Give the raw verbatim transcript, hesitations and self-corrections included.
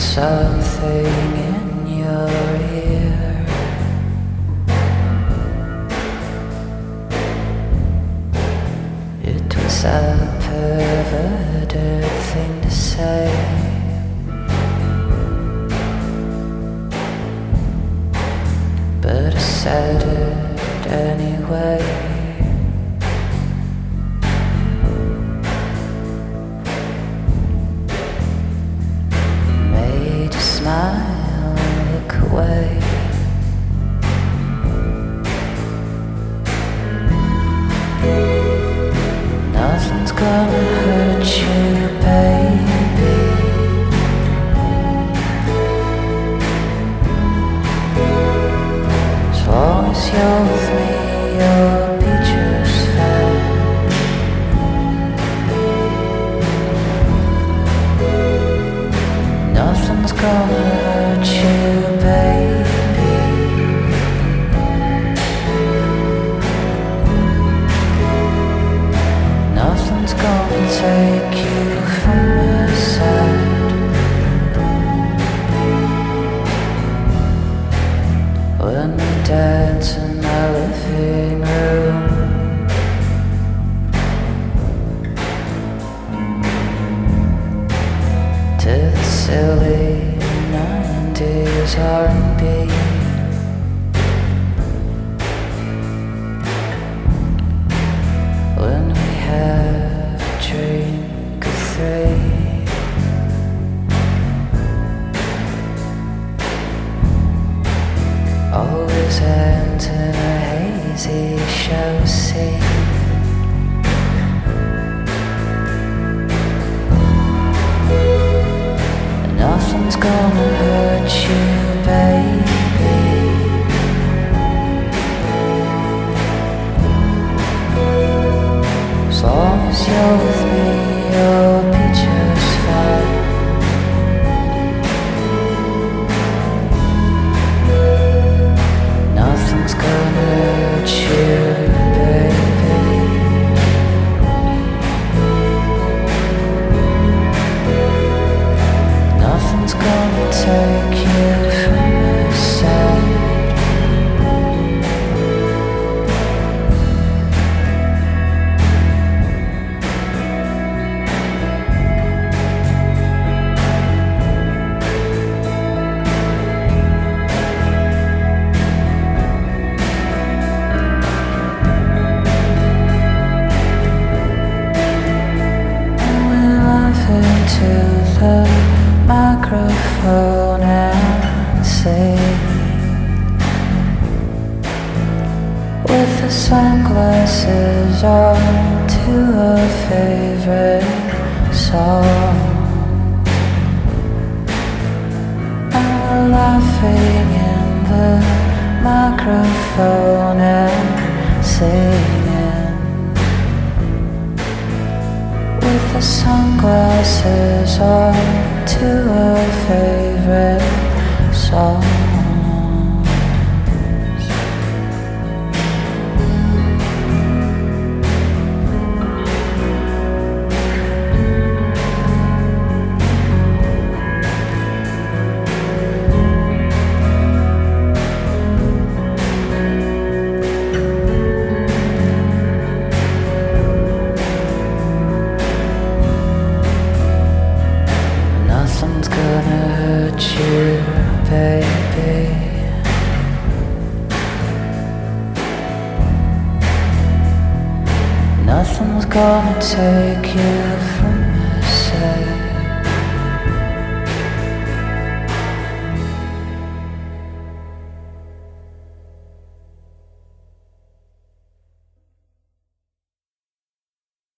something in your ear. It was a perverted thing to say, but I said it anyway. Smile, look away. Nothing's gonna hurt you, baby. As long as you're with me, you'll be just fine. Nothing's gonna hurt you, baby. Nothing's gonna take you from my side. When we dance in my living room, to the silly nineties R and B. When we have a drink or three, always ends in a hazy show scene. Nothing's gonna hurt you, baby. As long as you're with me, you'll be just fine. Nothing's gonna hurt you, baby. Nothing's gonna take you from my side. And we laugh into the microphone and sing with the sunglasses on to a favorite song. And we're laughing in the microphone and singing with the sunglasses on to a favorite song. Nothing's gonna hurt you, baby. Nothing's gonna take you